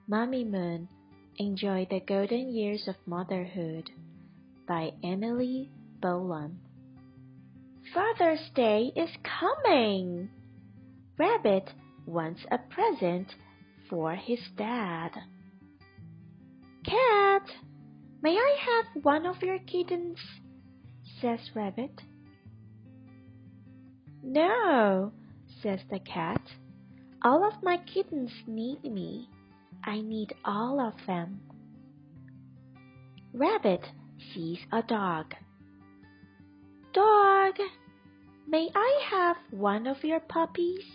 Mommy Moon, Enjoy the Golden Years of Motherhood by Emily Bolan. Father's Day is coming! Rabbit wants a present for his dad. Cat, may I have one of your kittens? Says Rabbit. No, says the cat. All of my kittens need me. I need all of them. Rabbit sees a dog. Dog, may I have one of your puppies?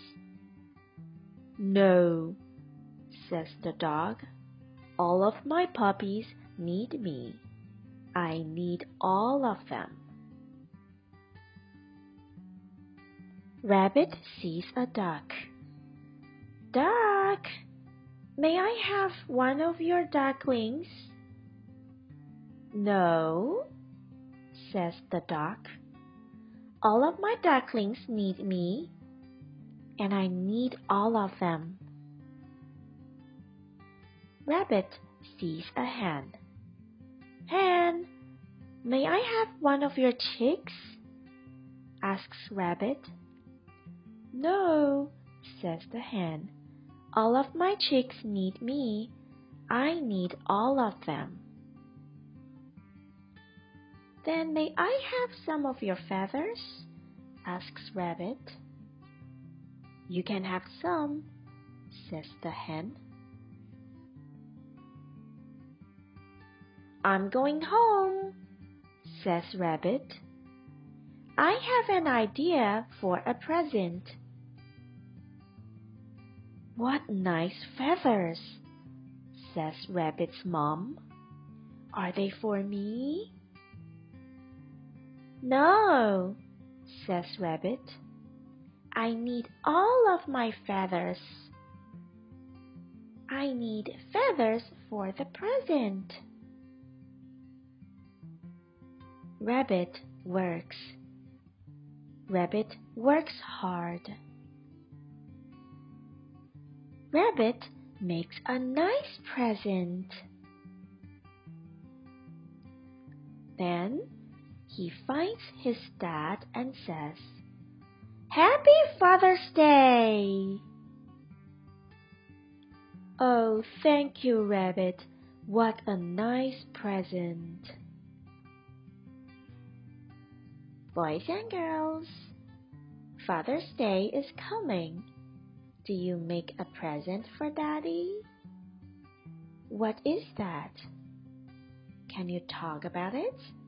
No, says the dog. All of my puppies need me. I need all of them. Rabbit sees a duck. Duck, may I have one of your ducklings? No, says the duck. All of my ducklings need me, and I need all of them. Rabbit sees a hen. Hen, may I have one of your chicks? Asks Rabbit. No, says the hen. All of my chicks need me. I need all of them. Then may I have some of your feathers? Asks Rabbit. You can have some, says the hen. I'm going home, says Rabbit. I have an idea for a present. What nice feathers, says Rabbit's mom. Are they for me? No, says Rabbit. I need all of my feathers. I need feathers for the present. Rabbit works. Rabbit works hard. Rabbit makes a nice present. Then he finds his dad and says, Happy Father's Day! Oh, thank you, Rabbit. What a nice present. Boys and girls, Father's Day is coming. Do you make a present for Daddy? What is that? Can you talk about it?